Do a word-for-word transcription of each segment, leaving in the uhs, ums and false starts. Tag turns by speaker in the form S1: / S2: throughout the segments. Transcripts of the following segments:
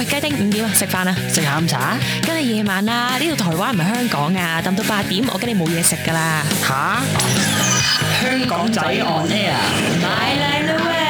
S1: 喂，雞丁五點啊，食飯啊，
S2: 食下午茶？
S1: 跟你夜晚啊，呢度台灣唔係香港啊，等到八點，我跟你冇嘢食噶啦。
S2: 吓？香港仔 on air，
S1: 買靚啦喂！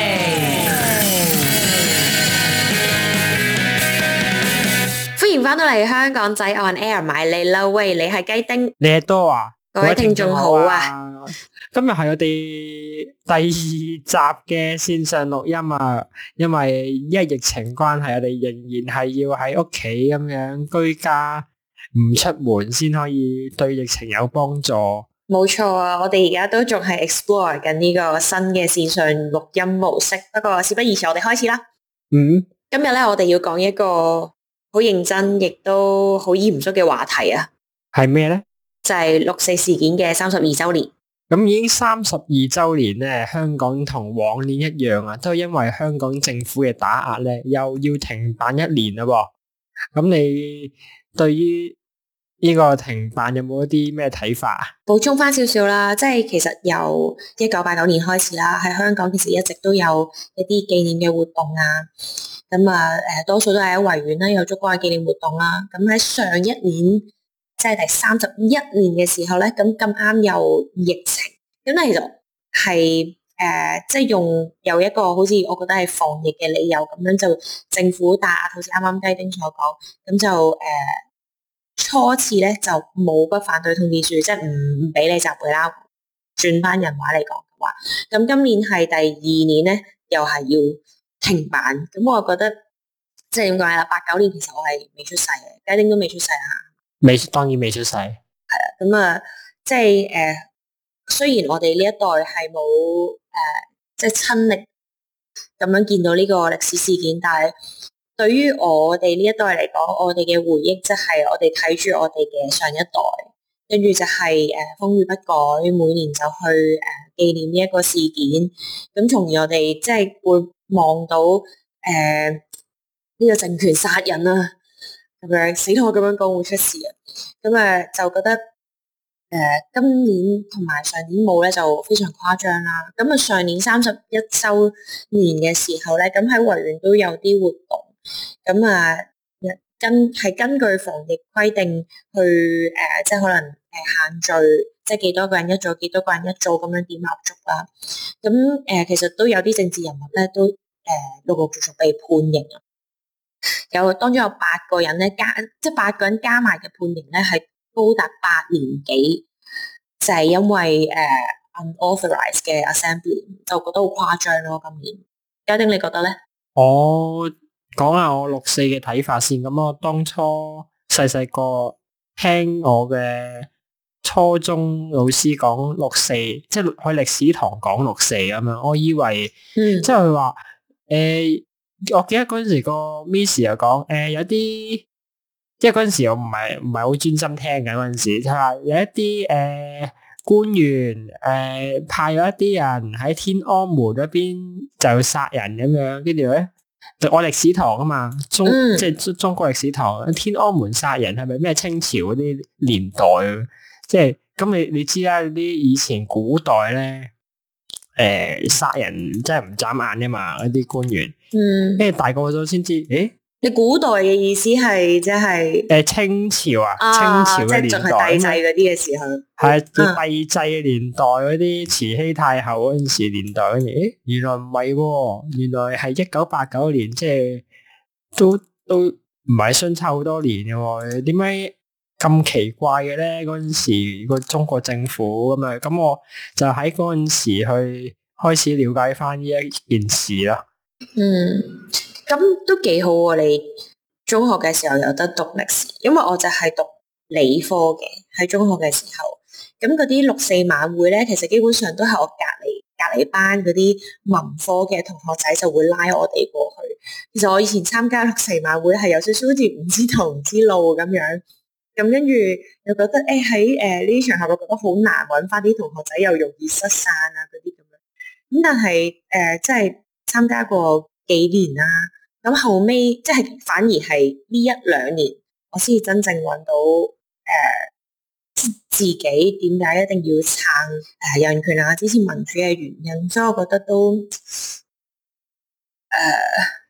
S1: 歡迎翻到嚟香港仔 on air 買你啦喂，你係雞丁，
S2: 你係多啊？
S1: 各位聽眾好啊！
S2: 今日係我哋第二集嘅線上錄音啊，因為因為疫情關係，我哋仍然係要喺屋企咁樣居家，唔出門先可以對疫情有幫助。
S1: 冇錯啊！我哋而家都仲係 explore 緊呢個新嘅線上錄音模式，不過事不宜遲，我哋開始啦。
S2: 嗯，
S1: 今日咧我哋要講一個好認真亦都好嚴肅嘅話題啊，
S2: 係咩咧？
S1: 就係六四事件嘅三十二周年。
S2: 咁已經三十二周年咧，香港同往年一樣啊，都係因為香港政府嘅打壓咧，又要停辦一年啦喎。咁你對於呢個停辦有冇一啲咩睇法啊？
S1: 補充翻少少啦，即係其實由一九八九年開始啦，喺香港其實一直都有一啲紀念嘅活動啊。咁啊，誒，多數都係喺維園啦，有燭光嘅紀念活動啦。咁喺上一年，即係第三十一年嘅時候咧，咁咁啱有疫情，咁咧其實係誒、呃，即係用有一個好似我覺得係防疫嘅理由，咁樣就政府打壓，好似啱啱雞丁所講，咁就誒、呃、初次咧就冇不反對通知書，即係唔唔俾你集會啦。轉翻人話嚟講嘅話，咁今年係第二年咧，又係要停辦。咁我覺得即係點講啦？八九年其實我係未出世嘅，雞丁都未出世啊。
S2: 未，當然未出世。係
S1: 啦，咁啊，即係誒、呃，雖然我哋呢一代係冇誒，即係親歷咁樣見到呢個歷史事件，但係對於我哋呢一代嚟講，我哋嘅回憶即係我哋睇住我哋嘅上一代，跟住就係誒風雨不改，每年就去誒紀念呢一個事件，咁從而我哋即係會望到誒呢、呃這個政權殺人啊！咁樣死拖咁樣講會出事啊！咁誒就覺得誒、呃、今年同埋上年冇咧就非常誇張啦。咁啊上年三十一週年嘅時候咧，咁喺維園都有啲活動。咁啊根係根據防疫規定去誒、呃，即係可能誒限聚，即係幾多個人一組，幾多個人一組咁樣點蠟燭啦。咁誒、呃、其實都有啲政治人物咧都誒陸陸續續被判刑啊。有當中有八個人咧加，即係八個人加埋嘅判刑咧係高達八年幾，就係、是、因為誒、uh, unauthorized 嘅 assembly， 就覺得好誇張咯。今年，雞丁你覺得咧？
S2: 我講下我六四嘅睇法先。咁我當初細細個聽我嘅初中老師講六四，即係去歷史堂講六四咁樣，我以為，嗯、即係佢話誒。我記得嗰陣時個 Miss 又講，誒、呃、有啲，即係嗰陣時我唔係唔係好專心聽嘅嗰陣時，就話有一啲誒、呃、官員誒、呃、派咗一啲人喺天安門嗰邊就殺人咁樣，跟住咧，我歷史堂啊嘛，中、嗯、即係中國歷史堂，天安門殺人係咪咩清朝嗰啲年代？即係咁你你知啦，啲以前古代咧。誒，殺、呃、人真係唔眨眼噶嘛？嗰啲官員，嗯，跟住大個咗先知，誒，
S1: 你古代嘅意思係即係
S2: 誒清朝啊，
S1: 啊
S2: 清朝嘅年代，
S1: 即係仲係帝制嗰啲嘅時候，
S2: 係帝制嘅年代嗰啲慈禧太后嗰陣時年代，跟住誒，原來唔係，原來係一九八九年，即係都都唔係相差好多年嘅，點解咁奇怪嘅咧？嗰陣時個中國政府咁啊，咁我就喺嗰陣時去開始了解翻呢一件事啦。
S1: 嗯，咁都幾好喎！你中學嘅時候有得讀歷史，因為我就係讀理科嘅，喺中學嘅時候，咁嗰啲六四晚會咧，其實基本上都係我隔籬隔籬班嗰啲文科嘅同學仔就會拉我哋過去。其實我以前參加六四晚會係有少少好似唔知頭唔知路咁樣。咁跟住又覺得誒喺誒呢啲場合，我覺得好難揾翻啲同學仔，又容易失散啊嗰啲咁樣。咁但係誒即係參加過幾年啦，咁後尾即係反而係呢一兩年，我先至真正揾到誒、呃、自己點解一定要撐誒人權啊、支持民主嘅原因。所以我覺得都誒、呃、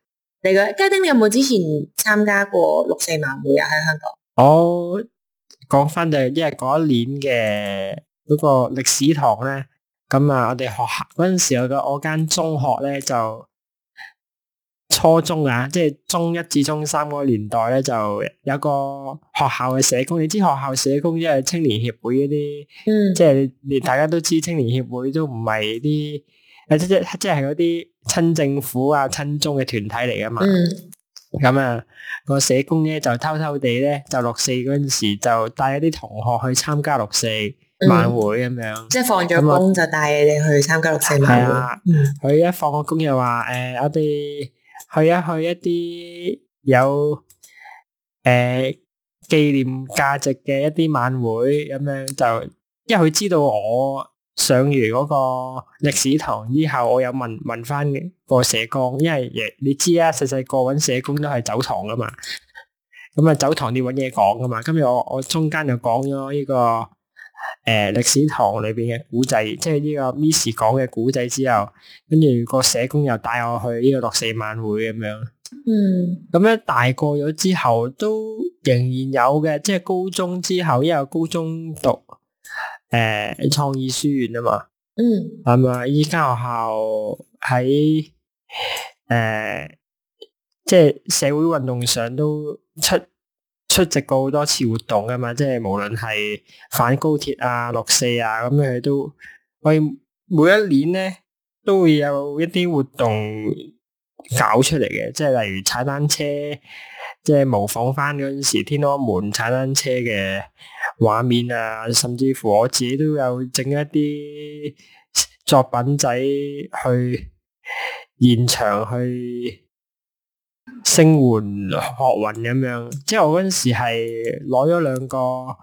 S1: 你嘅家丁，你有冇之前參加過六四晚會啊？喺香港？
S2: 我講翻就係因為嗰一年嘅嗰個歷史堂咧，咁啊，我哋學校嗰陣時我個我間中學咧就初中啊，即係中一至中三嗰個年代咧，就有個學校嘅社工。你知學校社工即係青年協會嗰啲，
S1: 嗯，
S2: 即係你大家都知青年協會都唔係啲誒即即即係嗰啲親政府啊親中嘅團體嚟噶嘛。
S1: 嗯，
S2: 咁啊，個社工咧就偷偷地咧就六四嗰陣時就帶一啲同學去參加六四晚會咁樣，
S1: 即係放咗工就帶你哋去參加六四晚會。
S2: 係啊，佢一放個工又話誒，我哋去一去一啲有誒紀念價值嘅一啲晚會咁樣，就因為佢知道我上完嗰個歷史堂之後，我有問問翻個社工，因為你知啊，細細個揾社工都係走堂噶嘛，咁啊走堂要揾嘢講噶嘛，今日我我中間就講咗呢個誒歷史堂裏邊嘅古仔，即係呢個 Miss 講嘅古仔之後，跟住個社工又帶我去呢個六四晚會咁樣。
S1: 嗯，
S2: 咁咧大個咗之後都仍然有嘅，即係高中之後，因為高中讀誒創意書院啊嘛，
S1: 嗯，
S2: 係咪？依間學校喺誒即係社會運動上都出出席過好多次活動噶嘛，即係無論係反高鐵啊、六四啊，咁佢都我哋每一年咧都會有一啲活動搞出嚟嘅，即係例如踩單車，即係模仿翻嗰陣時天安門踩單車嘅畫面啊，甚至乎我自己都有整一啲作品仔去現場去聲援學運咁樣。即係我嗰陣時係攞咗兩個誒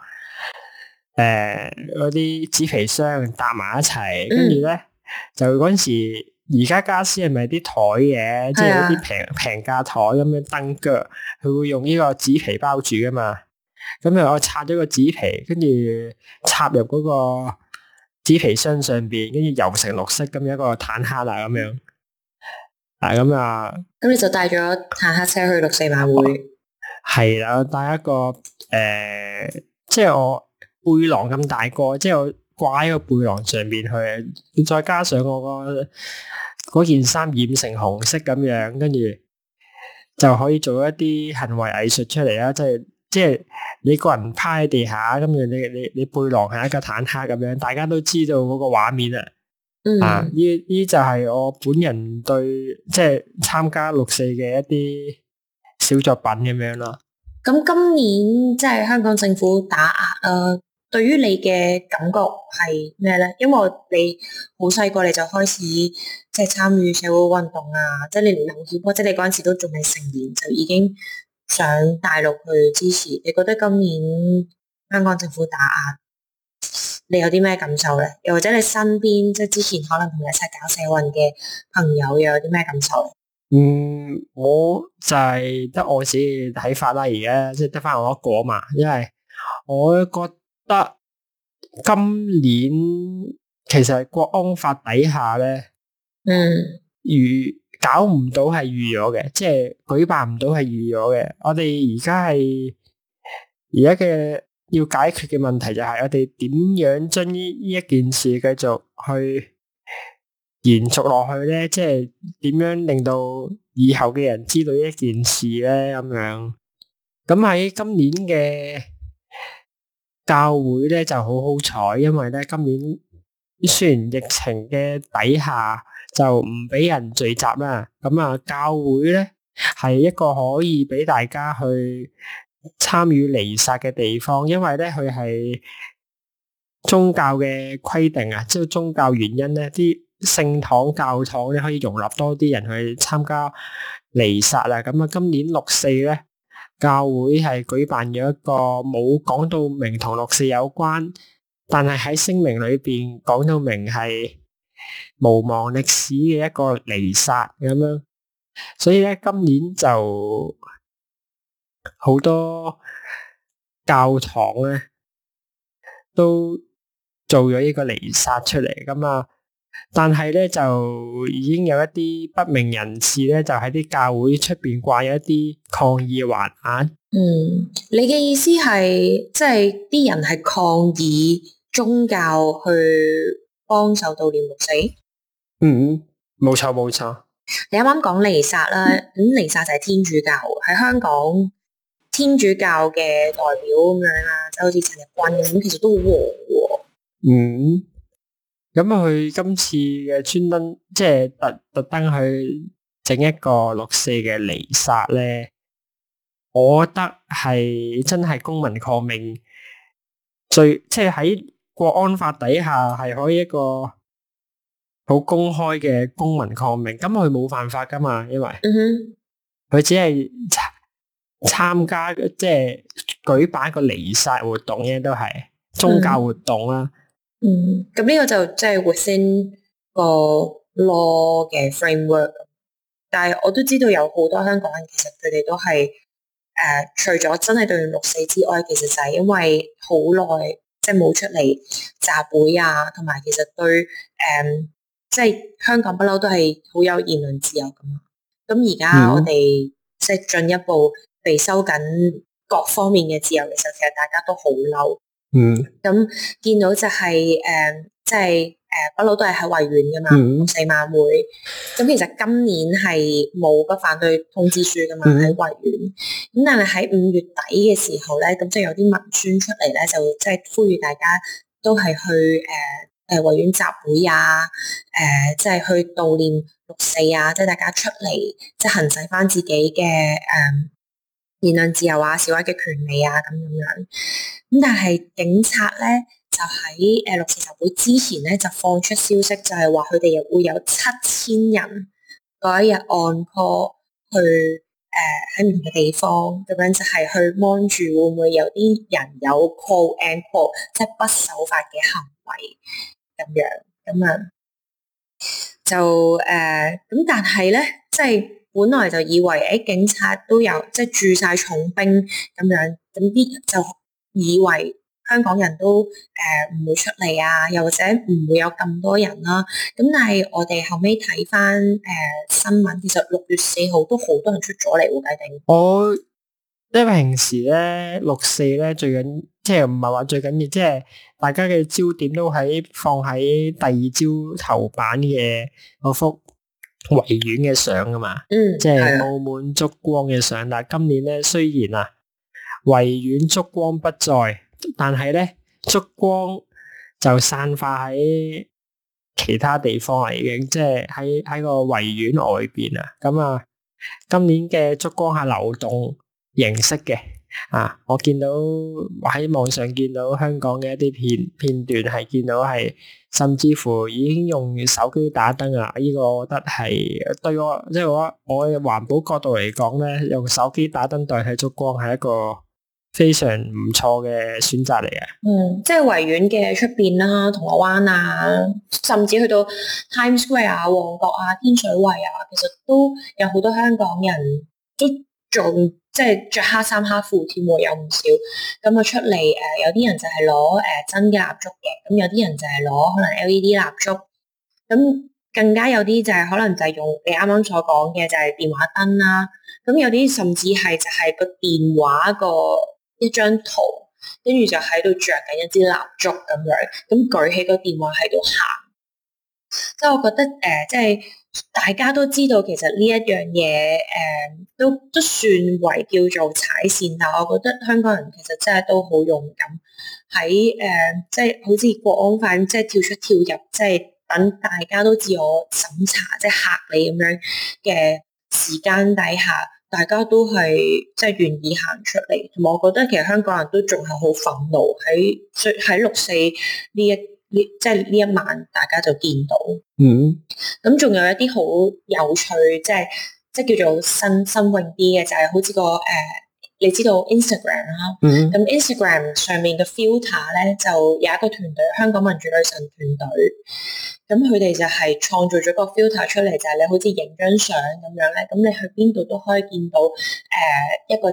S2: 嗰啲紙皮箱搭埋一齊，跟住咧就嗰陣時。而家家私係咪啲台嘅，即係一啲平平價台咁樣燈腳，佢會用呢個紙皮包住噶嘛？咁啊，我拆咗個紙皮，跟住插入嗰個紙皮箱上邊，跟住油成綠色咁樣一個坦克啦咁樣。啊，咁啊，
S1: 咁你就帶咗坦克車去六四晚會？
S2: 係啦，帶一個誒、呃，即係我背囊咁大個，即係我。掛喺個背囊上邊去，再加上我個嗰件衫染成紅色咁樣，跟住就可以做一啲行為藝術出嚟啦。即係即係你個人趴喺地下，咁樣你你你背囊係一個坦克咁樣，大家都知道嗰個畫面啊。
S1: 嗯、
S2: 啊，呢呢就係我本人對即係參加六四嘅一啲小作品咁樣咯。
S1: 咁今年即係香港政府打壓啊。對於你嘅感覺係咩咧？因為你好細個你就開始即係參與社會運動啊，即係你留意或者你嗰陣時都仲未成年就已經上大陸去支持。你覺得今年香港政府打壓，你有啲咩感受咧？又或者你身邊即係之前可能同你一齊搞社運嘅朋友又有啲咩感受咧？
S2: 嗯，我就係得我自己睇法啦，而家即係得翻我一個嘛，因為我覺得今年其實國安法底下咧，
S1: 嗯，
S2: 預搞唔到係預咗嘅，即係舉辦唔到係預咗嘅。我哋而家係而家嘅要解決嘅問題就係我哋點樣將呢呢一件事繼續去延續落去咧？即係點樣令到以後嘅人知道呢一件事咧？咁樣咁喺今年嘅教會咧就好好彩，因為咧今年雖然疫情嘅底下就唔俾人聚集啦，咁啊教會咧係一個可以俾大家去參與彌撒嘅地方，因為咧佢係宗教嘅規定啊，即係宗教原因咧，啲聖堂教堂咧可以容納多啲人去參加彌撒啦。咁啊，今年六四咧。教會係舉辦咗一個冇講到明同六四有關，但係喺聲明裏邊講到明係無忘歷史嘅一個彌撒咁樣，所以咧今年就好多教堂咧都做咗呢個彌撒出嚟，咁啊但係咧就已經有一啲不明人士咧，就喺啲教會出邊掛有一啲抗議橫額。
S1: 嗯，你嘅意思係即係啲人係抗議宗教去幫手悼念六四？
S2: 嗯，冇錯冇錯。
S1: 你啱啱講彌撒啦，咁彌撒就係天主教喺香港，天主教嘅代表咁樣啦，就好似陳日君咁，其實都好和喎。
S2: 嗯。咁佢今次嘅專登，即係特特登去整一個六四嘅彌撒咧，我覺得係真係公民抗命，最即係喺國安法底下係可以一個好公開嘅公民抗命。咁佢冇犯法噶嘛，因為
S1: 嗯哼，
S2: 佢只係參加即係舉辦一個彌撒活動嘅，都係宗教活動啦。
S1: 嗯，咁呢個就即係 within 個 law 嘅 framework，但係我都知道有好多香港人其實佢哋都係誒、呃，除咗真係悼念六四之外，其實就係因為好耐即係冇出嚟集會啊，同埋其實對誒、呃，即係香港不嬲都係好有言論自由噶嘛。咁而家我哋即係進一步被收緊各方面嘅自由嘅時候，其實大家都好嬲。
S2: 嗯，
S1: 咁見到就係、是、誒、呃，即係誒，不、呃、嬲都係喺維園噶嘛，六四、嗯、晚會。咁其實今年係冇不反對通知書噶嘛，喺維園。咁但係喺五月底嘅時候咧，咁即係有啲文宣出嚟咧，就即係呼籲大家都係去誒誒維園集會啊，誒、呃、即係去悼念六四啊，即係大家出嚟即係行使翻自己嘅誒、呃、言論自由啊、示威嘅權利啊，咁咁樣。咁但係警察咧就喺誒六四集會之前咧就放出消息，就係話佢哋又會有七千人嗰一日按 call 去誒喺唔同嘅地方，咁樣就係去 mon 住會唔會有啲人有 call and call，即係不守法嘅行為咁樣，咁啊就誒咁、呃，但係咧即係本來就以為誒、欸、警察都有即係駐晒重兵咁樣，咁啲就以為香港人都誒唔、呃、會出嚟啊，又或者唔會有咁多人啦、啊。咁但係我哋後尾睇翻誒新聞，其實六月四號都好多人出咗嚟喎，計定。
S2: 我因為平時咧六四咧最緊，即係唔係話最緊要，即係大家嘅焦點都喺放喺第二朝頭版嘅嗰幅維園嘅相啊嘛。嗯，即係澳門燭光嘅相。但係今年咧雖然啊，維園燭光不再，但係咧燭光就散發喺其他地方啦，已經即係喺喺個維園外邊啊。咁啊，今年嘅燭光係流動形式嘅啊，我見到喺網上見到香港嘅一啲片片段，係見到係甚至乎已經用手機打燈啊！呢、這個我覺得係對我即係我我嘅環保角度嚟講咧，用手機打燈代替燭光係一個非常唔錯嘅選擇嚟嘅。嗯，
S1: 即係維園嘅出邊啦，銅鑼灣啊，甚至去到 Times Square 啊、旺角啊、天水圍啊，其實都有好多香港人都仲即係着黑衫黑褲添喎，有唔少。咁啊出嚟誒、呃，有啲人就係攞誒真嘅蠟燭嘅，咁有啲人就係攞可能 L E D 蠟燭，咁更加有啲就係可能就係用你啱啱所講嘅就係電話燈啦。咁有啲甚至係就係個電話個一張圖，跟住就喺度着緊一支蠟燭咁樣，咁舉起個電話喺度行。即係我覺得誒、呃，即係大家都知道，其實呢一樣嘢誒，都都算為叫做踩線，但係我覺得香港人其實真係都好勇敢，喺誒、呃，即係好似國安法即係跳出跳入，即係等大家都自我審查，即係嚇你咁樣嘅時間底下，大家都係即係願意行出嚟，同埋我覺得其實香港人都仲係好憤怒喺喺六四呢一。呢即係呢一晚，大家就見到，嗯，咁仲有一啲好有趣，即係即係叫做新新穎啲嘅，就係、是、好似個誒、呃，你知道 Instagram 啦，嗯，咁 Instagram 上面嘅 filter 咧，就有一個團隊，香港民主女神團隊，咁佢哋就係創造咗個 filter 出嚟，就係、是、你好似影張相咁樣咧，咁你去邊度都可以見到誒、呃、一個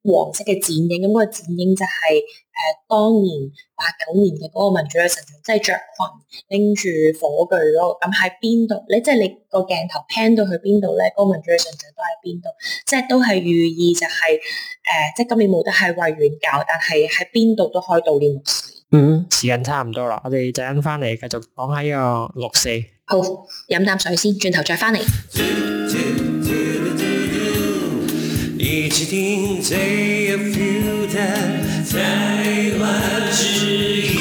S1: 黃色嘅剪影，咁、嗰個剪影就係、是、誒、呃、當年八九年嘅嗰個民主女神像，即係着裙拎住火炬咯。咁喺邊度咧？即係你個鏡頭 pan 到去邊度咧？嗰、嗰個民主女神像都喺邊度？即係都係寓意就係、是、誒、呃，即係今年冇得喺維園搞，但係喺邊度都可以悼念六四。
S2: 嗯，時間差唔多啦，我哋陣間翻嚟繼續講下呢個六四。
S1: 好，飲啖水先，轉頭再翻嚟。一起聽最有 feel 的台灣之音。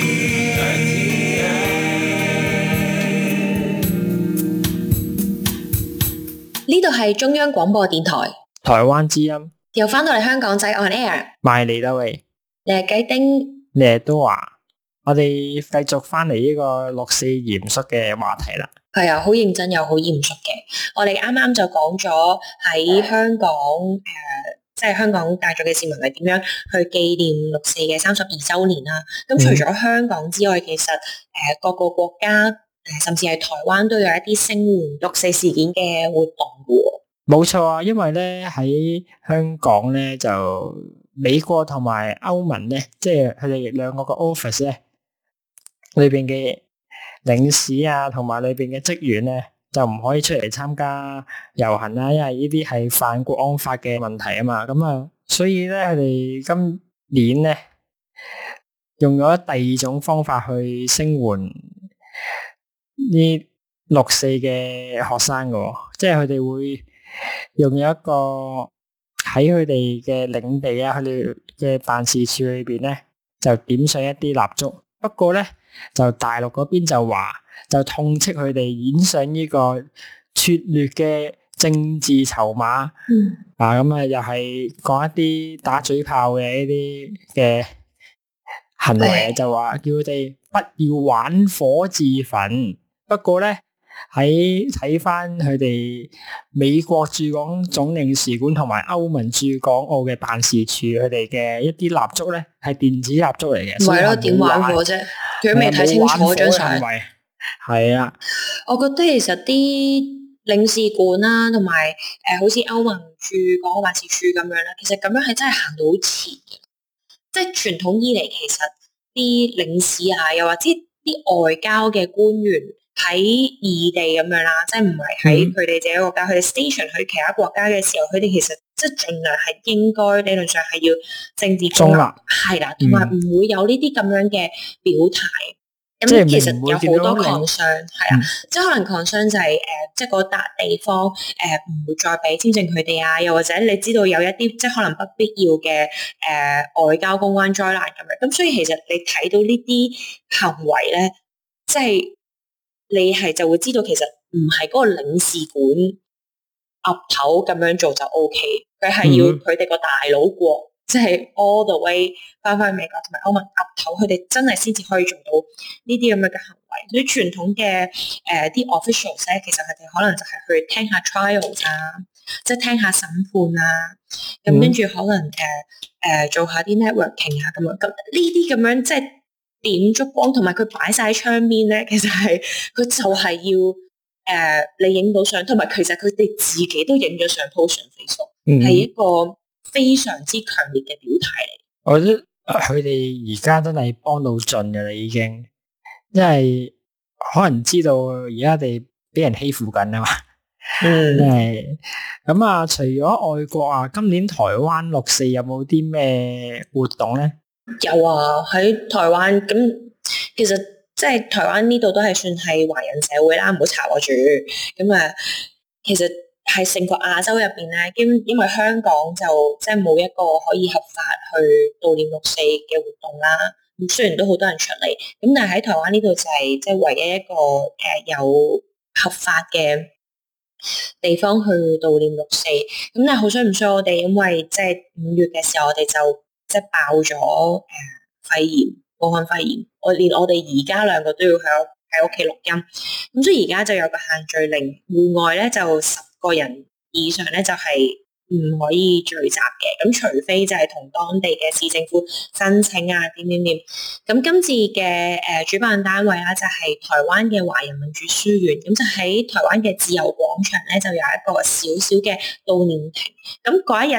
S1: 呢度係中央廣播電台
S2: 台灣之音，
S1: 又翻到嚟香港仔 on air，
S2: 賣嚟啦喂，
S1: 你係雞丁，
S2: 你係都話，我哋繼續翻嚟呢個六四嚴肅嘅話題啦。
S1: 係啊，好認真又好嚴肅嘅。我哋啱啱就講咗喺香港誒、呃，即係香港大眾嘅市民係點樣去紀念六四嘅三十二週年啦。咁除咗香港之外，其實誒、呃、各個國家誒、呃，甚至係台灣都有一啲聲援六四事件嘅活動嘅。
S2: 冇錯啊，因為咧喺香港咧就美國同埋歐盟咧，即係佢哋兩個個 office 咧裏邊嘅領事啊，同埋裏邊嘅職員咧，就唔可以出嚟參加遊行啦，因為呢啲係犯國安法嘅問題啊嘛。咁啊，所以咧佢哋今年咧用咗第二種方法去聲援呢六四嘅學生嘅，即係佢哋會用咗一個喺佢哋嘅領地啊，佢哋嘅辦事處裏邊咧，就點上一啲蠟燭。不過咧，就大陸嗰邊就話，就痛斥佢哋演上呢個拙劣嘅政治籌碼。嗯。啊，咁啊，又係講一啲打嘴炮嘅呢啲嘅行為，就話叫佢哋不要玩火自焚。不過咧，喺睇翻佢哋美國駐港總領事館同埋歐盟駐港澳嘅辦事處，佢哋嘅一啲蠟燭咧係電子蠟燭嚟嘅。唔係咯，點玩火啫？佢都未睇清楚張相。係啊，我覺得其實啲領事館啦，同埋誒好似歐盟駐港澳辦事處咁樣啦，其實咁樣係真係行到好前嘅。即係傳統以嚟，其實啲領事啊，又或者啲外交嘅官員。喺異地咁樣啦，即係唔係喺佢哋自己國家，佢哋 station 去其他國家嘅時候，佢哋其實即係盡量係應該理論上係要政治中立，係啦，同埋唔會有呢啲咁樣嘅表態。咁、嗯、其實有好多 concern，係啊，即係可能 concern 就係、是、誒、呃，即係嗰笪地方誒唔、呃、會再俾簽證佢哋啊，又或者你知道有一啲即係可能不必要嘅誒、呃、外交公關災難咁樣。咁所以其實你睇到呢啲行為咧，即係。你係就會知道，其實唔係嗰個領事館岌頭咁樣做就 O K，佢係要佢哋個大佬國，即係 all the way 翻返去美國同埋歐盟岌頭，佢哋真係先至可以做到呢啲咁樣嘅行為。所以傳統嘅誒啲 officials 咧，其實佢哋可能就係去聽下 trials 啊，即係聽下審判啊，咁跟住可能誒誒、呃呃、做下啲 networking 啊咁樣。咁呢啲咁樣即係。點燭光同埋佢擺晒喺窗邊咧，其實係佢就係要誒、呃、你影到相，同埋其實佢哋自己都影咗相 po 上 Facebook，係一個非常之強烈嘅表態嚟。我覺得佢哋而家真係幫到盡㗎啦，已經，因為可能知道而家哋俾人欺負緊啊嘛。嗯，係咁啊！除咗外國啊，今年台灣六四有冇啲咩活動咧？
S1: 有啊，喺台灣咁，其實即係台灣呢度都係算係華人社會啦，唔好查我住。咁啊，其實係成個亞洲入邊咧，因因為香港就即係冇一個可以合法去悼念六四嘅活動啦。咁雖然都好多人出嚟，咁但係喺台灣呢度就係即係唯一一個誒、呃、有合法嘅地方去悼念六四。咁但係好衰唔衰我哋，因為即係五月嘅時候我哋就。即係爆咗誒、呃、肺炎，武漢肺炎，我連我哋而家兩個都要喺喺屋企錄音，咁所以而家就有個限聚令，戶外咧就十個人以上咧就係、是、唔可以聚集嘅，咁除非就係同當地嘅市政府申請啊點點點，咁今次嘅誒、呃、主辦單位啦就係、是、台灣嘅華人民主書院，咁就喺台灣嘅自由廣場咧就有一個小小嘅悼念亭，咁嗰一日。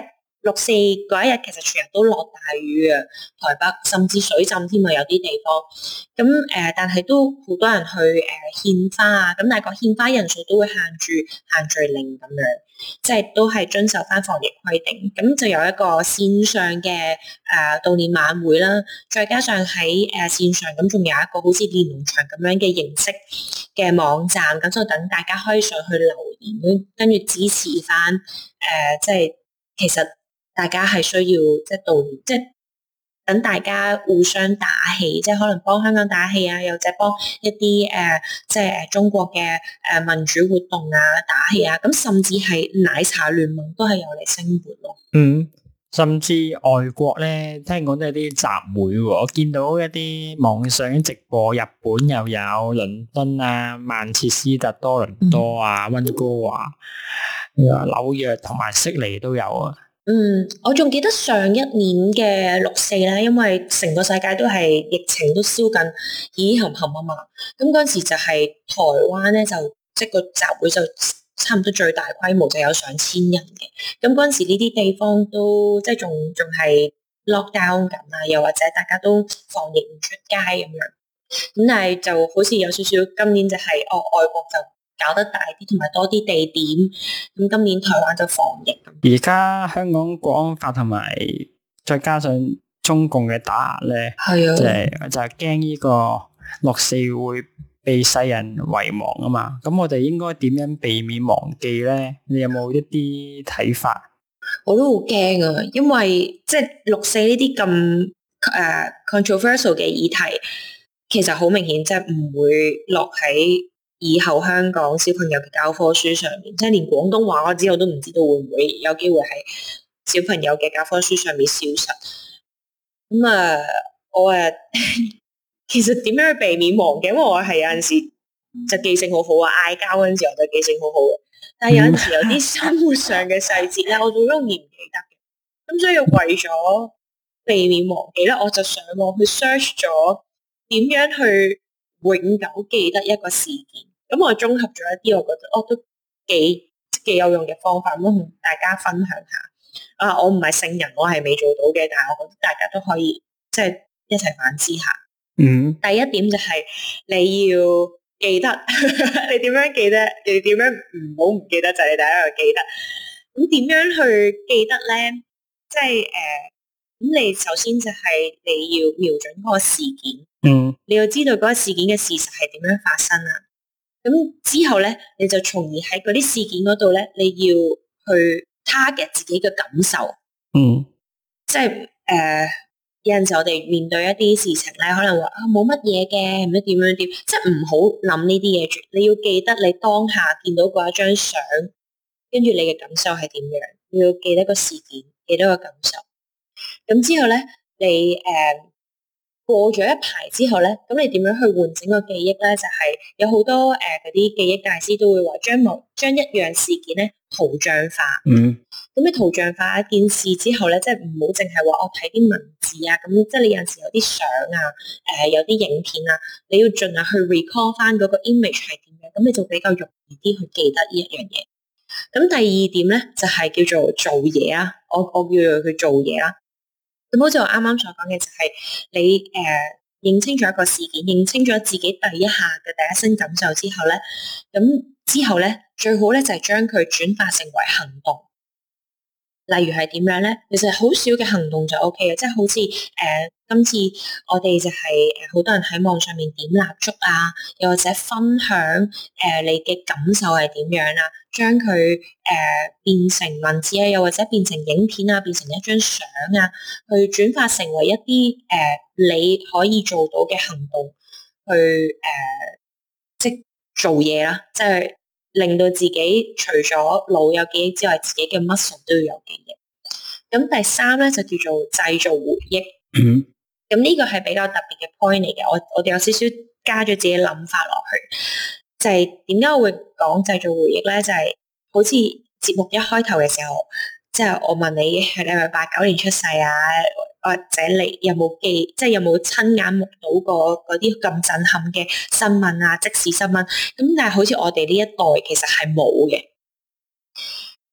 S1: 六四嗰一日其實全日都落大雨啊，台北甚至水浸添啊，有啲地方。咁誒、呃，但係都好多人去誒、呃、獻花啊，咁但係個獻花人數都會限住限聚令咁樣，即係都係遵守翻防疫規定。咁就有一個線上嘅誒、呃、悼念晚會啦，再加上喺誒、呃、線上咁仲有一個好似連儂牆咁樣嘅形式嘅網站，咁就等大家可以上去留言，跟住支持翻誒、呃，即係其實。大家係需要即係悼念，即係等大家互相打氣，即係可能幫香港打氣啊，又或者幫一啲誒、呃，即係誒中國嘅誒民主活動啊打氣啊，咁甚至係奶茶聯盟都係有嚟聲援咯。
S2: 嗯，甚至外國咧，聽講都有啲集會喎，我見到一啲網上直播，日本又有倫敦啊、曼徹斯特、多倫多啊、溫哥華、紐約同埋悉尼都有啊。
S1: 嗯，我仲記得上一年嘅六四咧，因為成個世界都係疫情都燒緊，咦冚冚啊嘛，咁嗰陣時就係台灣咧就即係個集會就差唔多最大規模就有上千人嘅，咁嗰陣時呢啲地方都即係仲仲係 lock down 緊啊，又或者大家都防疫唔出街咁樣，咁但係就好似有少少今年就係、是、哦外國就搞得大啲，同埋多啲地點。咁今年台灣就防疫。
S2: 而家香港國安法同埋再加上中共嘅打壓咧，
S1: 係啊，
S2: 就係就係驚呢個六四會被世人遺忘啊嘛。咁我哋應該點樣避免忘記咧？你有冇一啲睇法？
S1: 我都好驚啊，因為即係六四呢啲咁誒 controversial 嘅議題，其實好明顯即係唔會落喺以後香港小朋友嘅教科書上面，即係連廣東話我之後都唔知道會唔會有機會喺小朋友嘅教科書上面消失。咁啊，我誒其實點樣去避免忘記？因為我係有陣時就記性好好啊，嗌交嗰陣時我就記性好好嘅，但係有陣時有啲生活上嘅細節咧，我就好容易唔記得嘅。咁所以為咗避免忘記咧，我就上網去 search 咗點樣去永久記得一個事件。咁我綜合咗一啲，我覺得哦都幾幾有用嘅方法，咁同大家分享下。啊，我唔係聖人，我係未做到嘅，但係我覺得大家都可以即係一齊反思下。
S2: 嗯，
S1: 第一點就係你要記得，你點樣記得？你點樣唔好唔記得就係、是、你第一個記得。咁點樣去記得咧？即係誒，咁、呃、你首先就係你要瞄準嗰個事件，
S2: 嗯，
S1: 你要知道嗰個事件嘅事實係點樣發生啊。咁之後咧，你就從而喺嗰啲事件嗰度咧，你要去 target 自己嘅感受。
S2: 嗯，
S1: 即係誒、呃，有陣時我哋面對一啲事情咧，可能話啊冇乜嘢嘅，唔知點樣點，即係唔好諗呢啲嘢住。你要記得你當下見到嗰一張相，跟住你嘅感受係點樣，你要記得個事件，記得個感受。咁之後咧，你誒。呃過咗一排之後咧，咁你點樣去喚醒個記憶咧？就係、是、有好多誒嗰啲記憶大師都會話將某將一樣事件咧圖像化。
S2: 嗯。
S1: 咁你圖像化一件事之後咧，即係唔好淨係話我睇啲文字啊，咁即係你有陣時有啲相啊，誒、呃、有啲影片啊，你要盡量去 recall 翻嗰個 image 係點樣，咁你就比較容易啲去記得呢一樣嘢。咁第二點咧就係、是、叫做做嘢啊，我我叫做佢做嘢啦。咁好似我啱啱所講嘅就係你誒、呃、認清咗一個事件，認清咗自己第一下嘅第一身感受之後咧，咁之後咧最好咧就係將佢轉化成為行動。例如係點樣咧？其實好少嘅行動就 O K 嘅，即係好似誒、呃、今次我哋就係誒好多人喺網上面點蠟燭啊，又或者分享誒、呃、你嘅感受係點樣啊，將佢誒、呃、變成文字啊，又或者變成影片啊，變成一張相啊，去轉化成為一啲誒、呃、你可以做到嘅行動，去誒、呃、即做嘢啦，即係。令到自己除咗腦有記憶之外，自己嘅 muscle 都要有記憶。咁第三咧就叫做製造回憶。咁呢、嗯、個係比較特別嘅 point 嚟嘅。我我哋有少少加咗自己諗法落去，就係點解我會講製造回憶咧？就係、是、好似節目一開頭嘅時候，即、就、係、是、我問你係你係咪八九年出世啊？或者你有冇記，即係有冇親眼目睹過嗰啲咁震撼嘅新聞啊、即時新聞？咁但係好似我哋呢一代其實係冇嘅。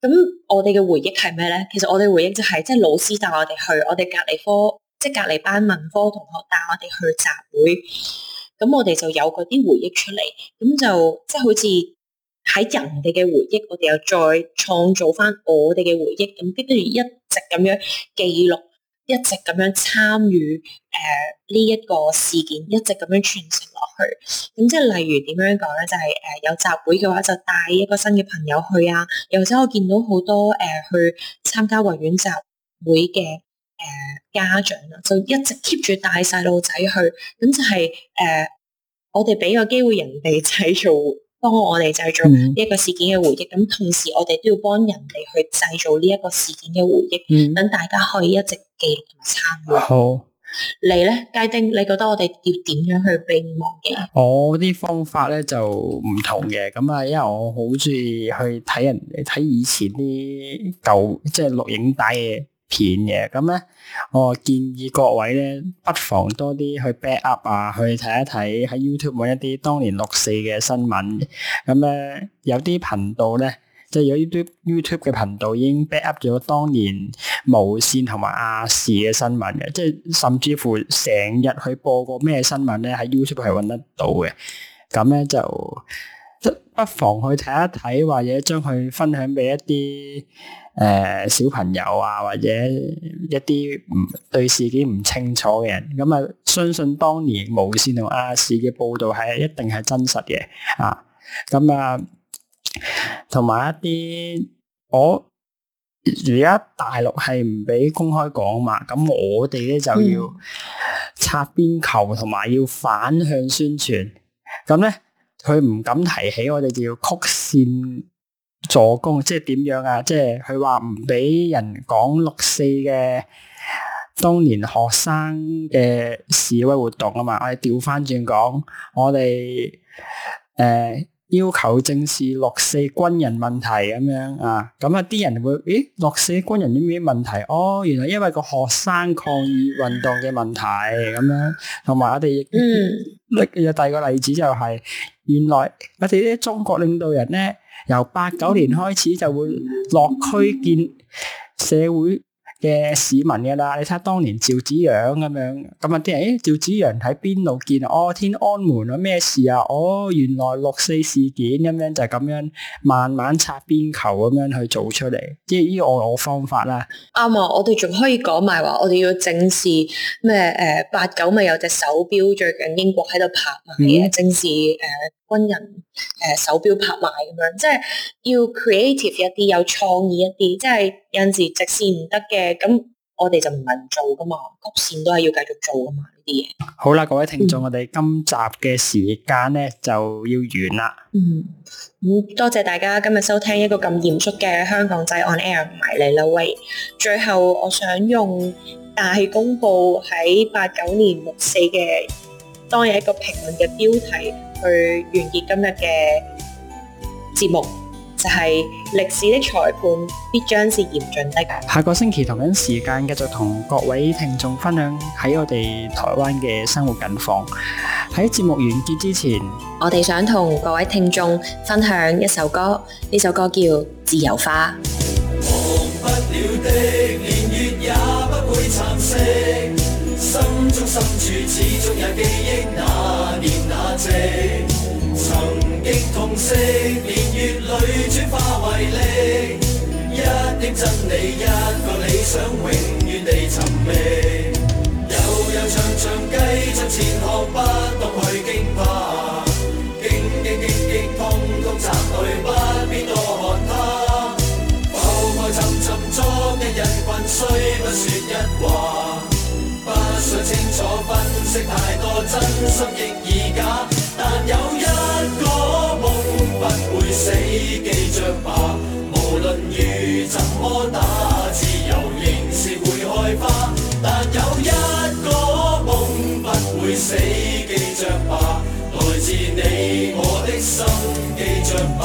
S1: 咁我哋嘅回憶係咩咧？其實我哋回憶就係即係老師帶我哋去，我哋隔離科即係隔離班文科同學帶我哋去集會，咁我哋就有嗰啲回憶出嚟，咁就即係好似喺人哋嘅回憶，我哋又再創造翻我哋嘅回憶，咁跟住一直咁樣記錄，一直咁樣參與誒呢一個事件，一直咁樣傳承落去。咁即係例如點樣講咧？就係、是、誒、呃、有集會嘅話，就帶一個新嘅朋友去啊。又或者我見到好多誒、呃、去參加維園集會嘅誒、呃、家長啊，就一直 keep 住帶細路仔去。咁就係、是、誒、呃、我哋俾個機會人哋製造。幫我哋製造呢一個事件嘅回憶，咁、嗯、同時我哋都要幫人哋去製造呢一個事件嘅回憶，等、嗯、大家可以一直記錄同埋參與。好，你咧，佳丁，你覺得我哋要點樣去避免忘記？
S2: 我啲方法咧就唔同嘅，咁啊，因為我好中意去睇人哋睇以前啲舊即係錄影帶嘅片嘅，咁咧我建議各位咧不妨多啲去 back up 啊，去睇一睇喺 YouTube 揾一啲當年六四嘅新聞，咁咧有啲頻道咧即係有 YouTube YouTube 嘅頻道已經 back up 咗當年無線同埋亞視嘅新聞嘅，即係甚至乎成日去播過咩新聞咧喺 YouTube 係揾得到嘅，咁咧就即不妨去睇一睇，或者將佢分享俾一啲誒、呃，小朋友啊，或者一啲唔對事件唔清楚嘅人，咁啊，相信當年無線同亞視嘅報道係一定係真實嘅啊。咁啊，同埋一啲我而家大陸係唔俾公開講嘛，咁我哋咧就要擦邊球，同埋要反向宣傳。咁咧，佢唔敢提起，我哋就要曲線助攻，即係點樣啊？即係佢話唔俾人講六四嘅當年學生嘅示威活動啊嘛，我哋調翻轉講，我哋誒、呃、要求正視六四軍人問題咁樣啊，咁啊啲人會，咦，六四軍人有咩問題？哦，原來因為個學生抗議運動嘅問題咁樣，同埋我哋亦有第二個例子就係、是，原來我哋啲中國領導人咧。由八九年開始就會落區見社會嘅市民㗎啦，你睇下當年趙紫陽咁樣，咁啊啲人，誒趙紫陽喺邊度見啊？哦，天安門啊，咩事啊？哦，原來六四事件咁樣就咁樣慢慢擦邊球咁樣去做出嚟，即係呢個我我方法啦。
S1: 啱啊，我哋仲可以講埋話，我哋要正視咩？誒八九咪有隻手錶，最近英國喺度拍賣嘅，嗯、正視誒、呃、軍人誒、呃、手錶拍賣咁樣，即係要 creative 一啲，有創意一啲，即係有陣時直線唔得嘅。咁我哋就唔係唔做噶嘛，曲線都係要繼續做噶嘛呢啲嘢。
S2: 好啦，各位聽眾，嗯、我哋今集嘅時間咧就要完啦。
S1: 嗯，咁多謝大家今日收聽一個咁嚴肅嘅香港仔 on air 埋嚟啦喂。最後我想用大公報喺八九年六四嘅當日一個評論嘅標題去完結今日嘅節目。就係歷史的裁判必將是嚴峻的。
S2: 下個星期同樣時間繼續同各位聽眾分享喺我哋台灣嘅生活近況。喺節目完結之前，
S1: 我哋想同各位聽眾分享一首歌，呢首歌叫《自由花》。忘不了的年月也不會蠶食，心中深處始終也記憶那年那夕。曾經痛惜，年月裏轉化為力，一點真理，一個理想，永遠地尋覓。悠悠長長繼續前行，不懂去驚怕，驚驚驚驚痛痛擲淚，不必多看他。浮浮沉沉昨日人群，雖不說一話，不想清楚分析太多，真心亦已假。但有一個夢不會死，記着吧，無論雨怎麼打，自由仍是會開花。但有一個夢不會死，記着吧，來自你我的心，記着吧。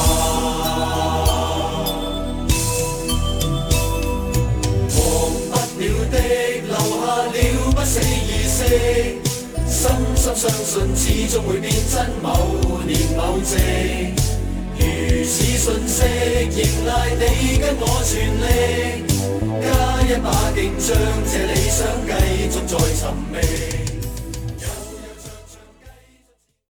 S1: 忘不了的留下了不死意識，深深相信始終會變真，某年某夕，如此
S3: 訊息，迎來你跟我全力，加一把勁將這理想繼續再尋覓。